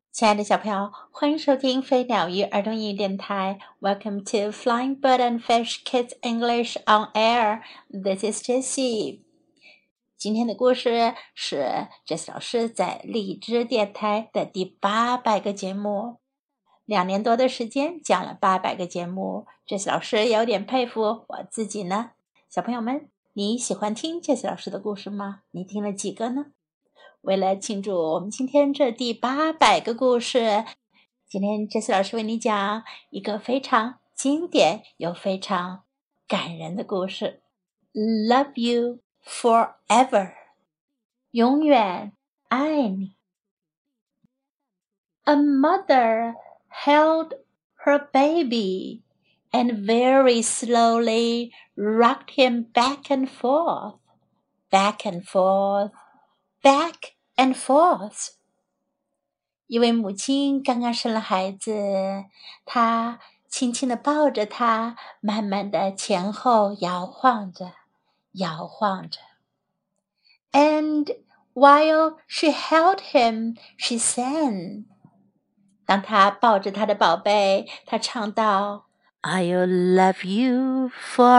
亲爱的小朋友，欢迎收听飞鸟鱼儿童英语电台。Welcome to Flying Bird and Fish Kids English on Air. This is Jessie. 今天的故事是 Jessie 老师在荔枝电台的第800个节目。2年多的时间讲了800个节目 ，Jessie 老师有点佩服我自己呢。小朋友们，你喜欢听 Jessie 老师的故事吗？你听了几个呢？为了庆祝我们今天这第800个故事，今天Jessie老师为你讲一个非常经典又非常感人的故事 Love You Forever 永远爱你 A mother held her baby and very slowly rocked him back and forth, back and forth.Back and forth. 一位母亲刚刚生了孩子，她轻轻地抱着他，慢慢地前后摇晃着，摇晃着。And while she held him, she sang. 当她抱着她的宝贝，她唱道 I'll love you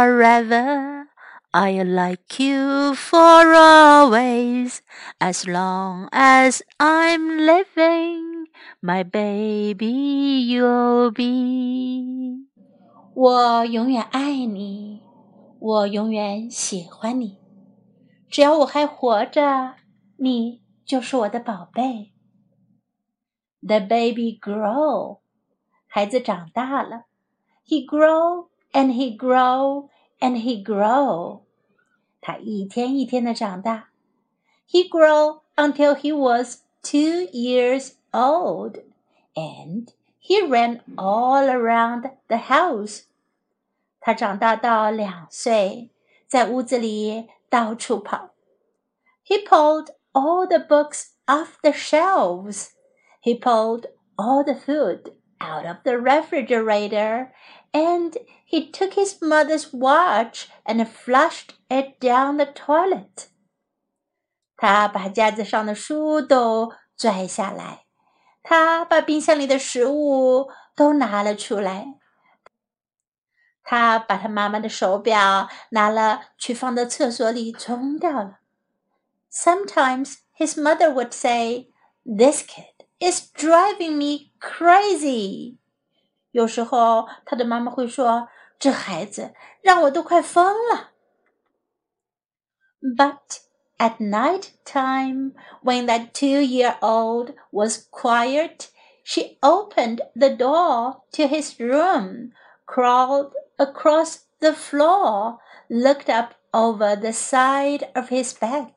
forever.I'll like you for always, as long as I'm living, my baby you'll be. 我永远爱你，我永远喜欢你，只要我还活着，你就是我的宝贝。The baby grew. 孩子长大了。He grew and he grew and he grew. 他一天一天地长大。He grew until he was 2 years old, and he ran all around the house. 他长大到2岁，在屋子里到处跑。He pulled all the books off the shelves. He pulled all the food out of the refrigerator, and he took his mother's watch and flushed it down the toilet. 他把架子上的书都拽下来，他把冰箱里的食物都拿了出来，他把他妈妈的手表拿了去放到厕所里冲掉了。Sometimes his mother would say, "This kid is driving me crazy." 有时候他的妈妈会说，这孩子让我都快疯了。But at night time, when that 2-year-old was quiet, she opened the door to his room, crawled across the floor, looked up over the side of his bed.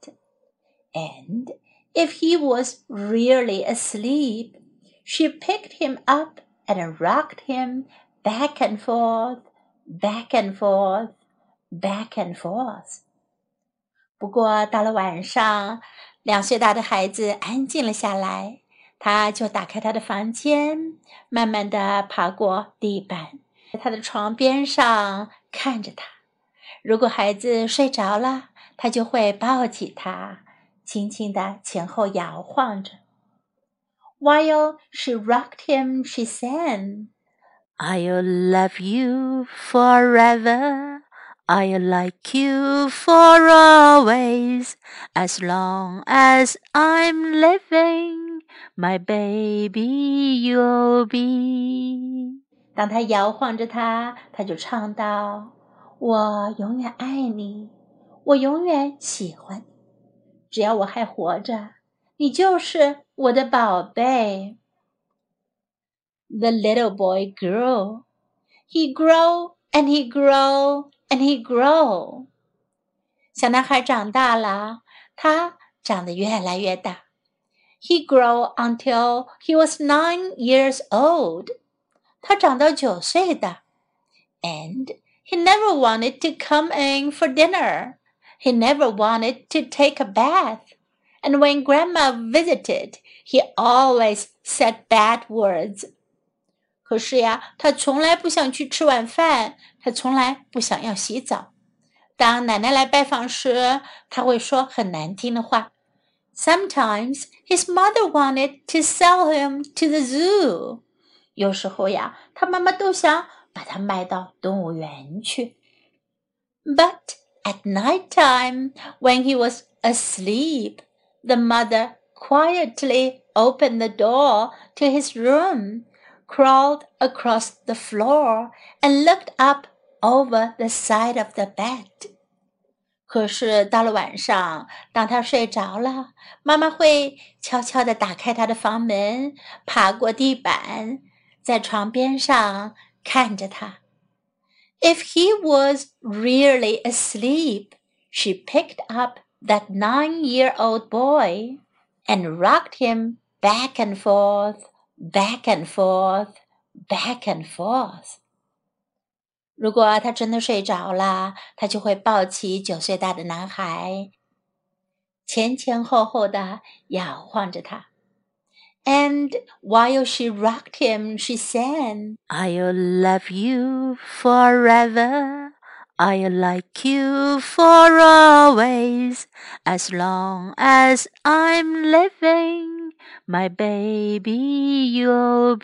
And if he was really asleep, she picked him up and rocked him back and forth, back and forth, back and forth. 不过到了晚上，2岁大的孩子安静了下来，他就打开他的房间，慢慢地爬过地板，在他的床边上看着他。如果孩子睡着了，他就会抱起他，轻轻地前后摇晃着。While she rocked him, she sang, I'll love you forever.I'll like you for always, as long as I'm living, my baby you'll be. 当他摇晃着他，他就唱道：我永远爱你，我永远喜欢你，只要我还活着，你就是我的宝贝。The little boy grew. He grew and he grew.And he grew. 小男孩长大了，他长得越来越大。He grew until he was 9 years old. 他长到9岁的。And he never wanted to come in for dinner. He never wanted to take a bath. And when Grandma visited, he always said bad words.可是呀，他从来不想去吃晚饭，他从来不想要洗澡。当奶奶来拜访时，他会说很难听的话。 Sometimes his mother wanted to sell him to the zoo. 有时候呀，他妈妈都想把他卖到动物园去。But at night time, when he was asleep, the mother quietly opened the door to his room, crawled across the floor, and looked up over the side of the bed. 可是到了晚上，当他睡着了，妈妈会悄悄地打开他的房门，爬过地板，在床边上看着他。If he was really asleep, she picked up that 9-year-old boy and rocked him back and forth, back and forth, back and forth. 如果他真的睡着了，他就会抱起9岁大的男孩，前前后后地摇晃着他。And while she rocked him, she sang, I'll love you forever. I'll like you for always. As long as I'm living, my baby you'll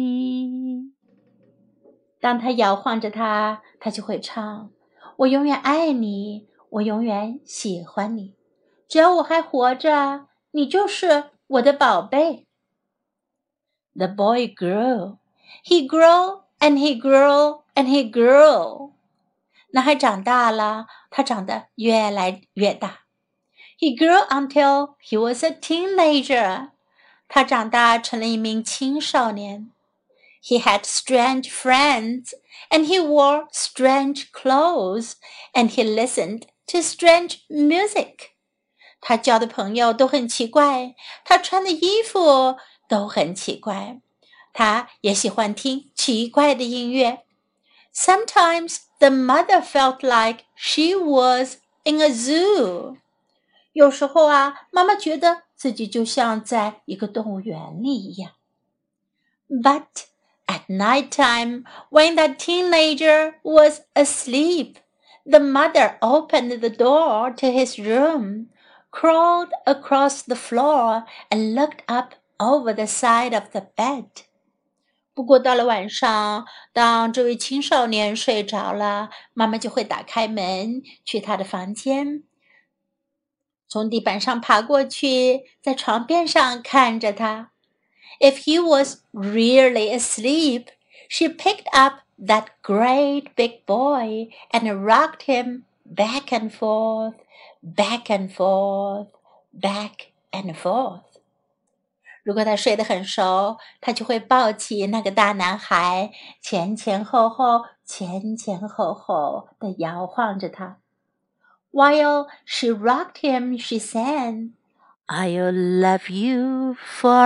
be. 当他摇晃着他，他就会唱，我永远爱你，我永远喜欢你。只要我还活着，你就是我的宝贝。The boy grew. He grew and he grew and he grew. 男孩长大了，他长得越来越大。He grew until he was a teenager. 他长大成了一名青少年。He had strange friends, and he wore strange clothes, and he listened to strange music. 他交的朋友都很奇怪，他穿的衣服都很奇怪，他也喜欢听奇怪的音乐。Sometimes the mother felt like she was in a zoo. 有时候啊，妈妈觉得自己就像在一个动物园里一样。But at night time, when the teenager was asleep, the mother opened the door to his room, crawled across the floor, and looked up over the side of the bed. 不过到了晚上，当这位青少年睡着了，妈妈就会打开门去他的房间，从地板上爬过去，在床边上看着他。If he was really asleep, she picked up that great big boy and rocked him back and forth, back and forth, back and forth. 如果他睡得很熟，他就会抱起那个大男孩，前前后后，前前后后地摇晃着他。While she rocked him, she sang, I'll love you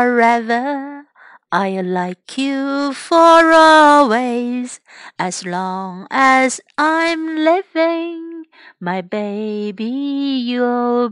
forever. I'll like you for always. As long as I'm living, my baby you'll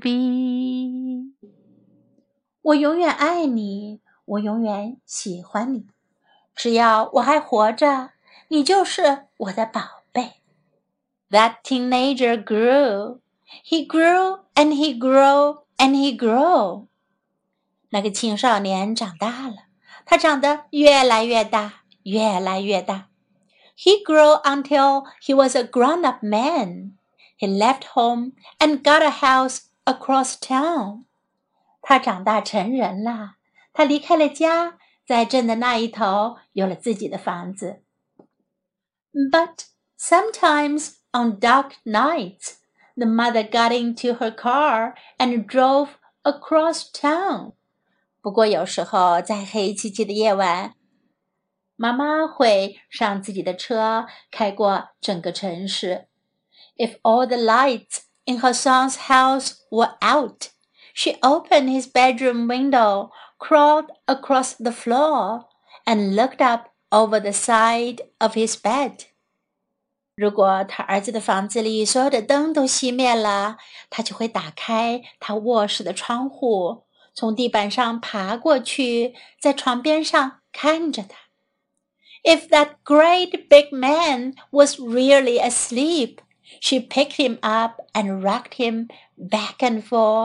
be. 我永远爱你，我永远喜欢你。只要我还活着，你就是我的宝贝。That teenager grew. He grew and he grew and he grew. 那个青少年长大了，他长得越来越大，越来越大。He grew until he was a grown-up man. He left home and got a house across town. 他长大成人了，他离开了家，在镇的那一头有了自己的房子。But sometimes on dark nights, the mother got into her car and drove across town. 不过有时候在黑漆漆的夜晚，妈妈会上自己的车开过整个城市。If all the lights in her son's house were out, she opened his bedroom window, crawled across the floor, and looked up over the side of his bed. 如果他儿子的房子里所有的灯都熄灭了，他就会打开他卧室的窗户，从地板上爬过去，在床边上看着他。If that great big man was really asleep, she picked him up and rocked him back and forth,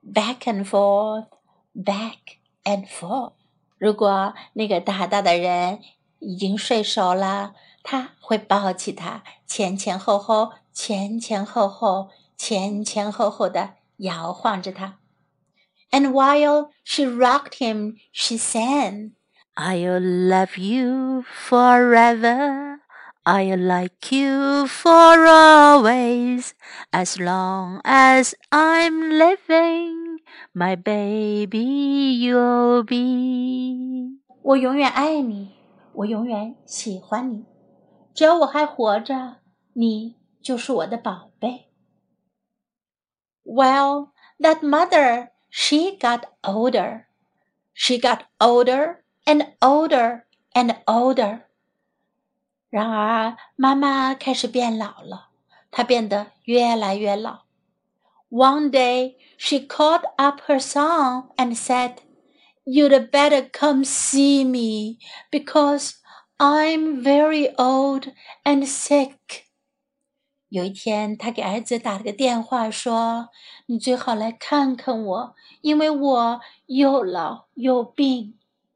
back and forth, back and forth。如果那个大大的人已经睡熟了，他会抱起他，前前后后，前前后后，前前后后的摇晃着他。And while she rocked him, she sang, I'll love you forever. I'll like you for always. As long as I'm living, my baby you'll be. 我永远爱你，我永远喜欢你。只要我还活着，你就是我的宝贝。Well, that mother, she got older. She got older and older and older. 然而，妈妈开始变老了，她变得越来越老。One day, she called up her son and said, You'd better come see me because I'm very old and sick. 有一天，她给儿子打了个电话，说：“你最好来看看我，因为我又老又病。”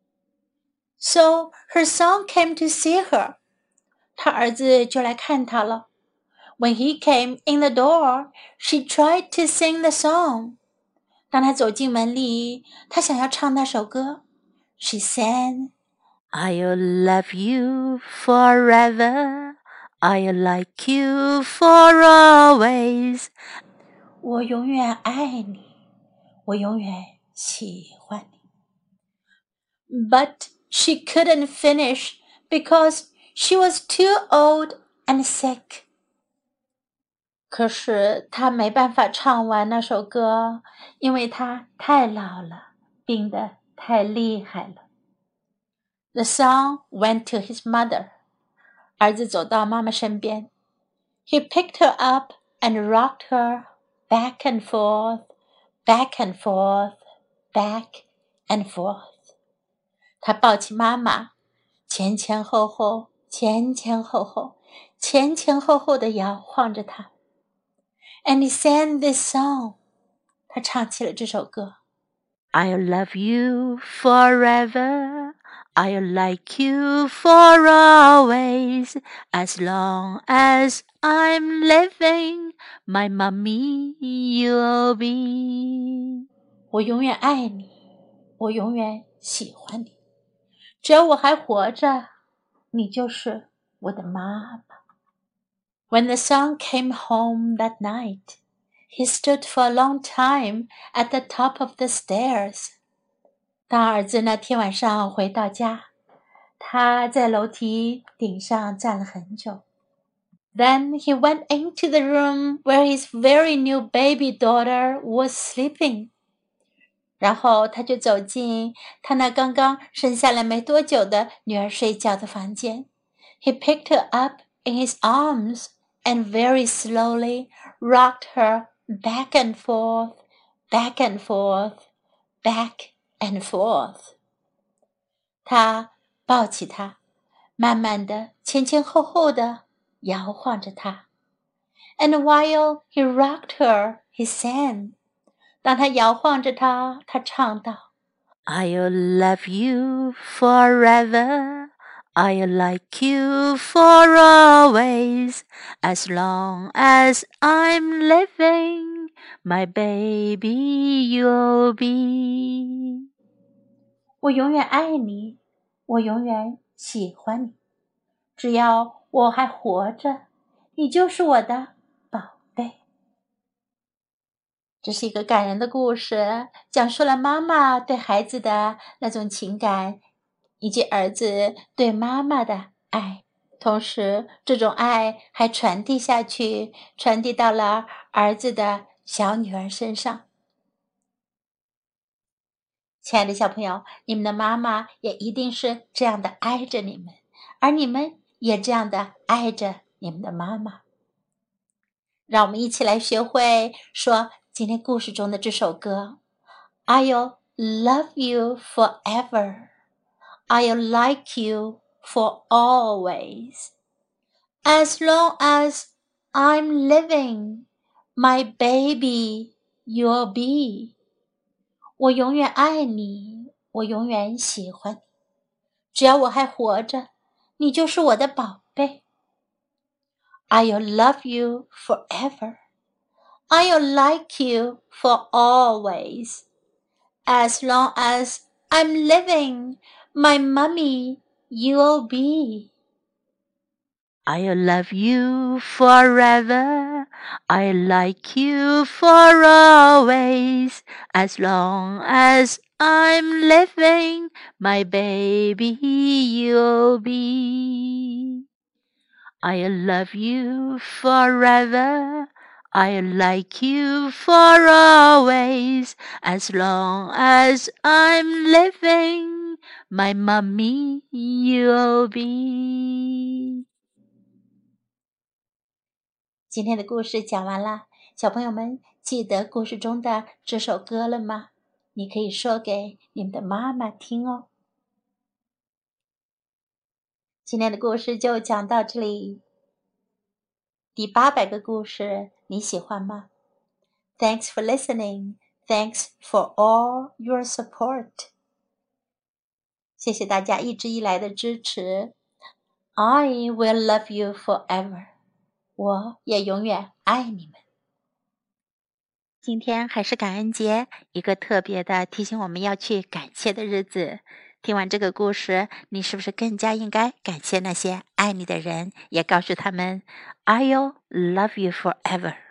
So her son came to see her. 她儿子就来看她了。When he came in the door, she tried to sing the song. 当他走进门里，他想要唱那首歌。She sang, I'll love you forever. I'll like you for always. 我永远爱你，我永远喜欢你。But she couldn't finish because she was too old and sick. 可是她没办法唱完那首歌，因为她太老了，病得太厉害了。The son went to his mother. 儿子走到妈妈身边。He picked her up and rocked her back and forth, back and forth, back and forth. 他抱起妈妈，前前后后，前前后后，前前后后地摇晃着她。And he sang this song. 他唱起了这首歌。I'll love you forever. I'll like you for always. As long as I'm living, my mommy you'll be. 我永远爱你，我永远喜欢你。只要我还活着，你就是我的妈妈。When the son came home that night, he stood for a long time at the top of the stairs. 当儿子那天晚上回到家，他在楼梯顶上站了很久。Then he went into the room where his very new baby daughter was sleeping. 然后他就走进他那刚刚生下来没多久的女儿睡觉的房间。He picked her up in his arms and very slowly rocked her back and forth, back and forth, back and forth. 他抱起她，慢慢地前前后后地摇晃着她。And while he rocked her, he sang. 当他摇晃着她，他唱道 I'll love you forever. I'll like you for always. As long as I'm living, my baby you'll be. 我永远爱你，我永远喜欢你。只要我还活着，你就是我的宝贝。这是一个感人的故事，讲述了妈妈对孩子的那种情感，以及儿子对妈妈的爱。同时，这种爱还传递下去，传递到了儿子的小女儿身上。亲爱的小朋友，你们的妈妈也一定是这样的爱着你们，而你们也这样的爱着你们的妈妈。让我们一起来学会说今天故事中的这首歌。I'll love you forever. I'll like you for always. As long as I'm living, my baby you'll be. 我永远爱你，我永远喜欢你。只要我还活着，你就是我的宝贝。I'll love you forever. I'll like you for always. As long as I'm living, my mummy you'll be. I'll love you forever. I'll like you for always. As long as I'm living, my baby you'll be. I'll love you forever. I'll like you for always. As long as I'm living, my mummy you'll be. 今天的故事讲完了，小朋友们记得故事中的这首歌了吗？你可以说给你们的妈妈听哦。今天的故事就讲到这里。第800个故事你喜欢吗？ Thanks for listening. Thanks for all your support. 谢谢大家一直以来的支持。I will love you forever. 我也永远爱你们。今天还是感恩节，一个特别的提醒我们要去感谢的日子。听完这个故事，你是不是更加应该感谢那些爱你的人，也告诉他们 I'll love you forever。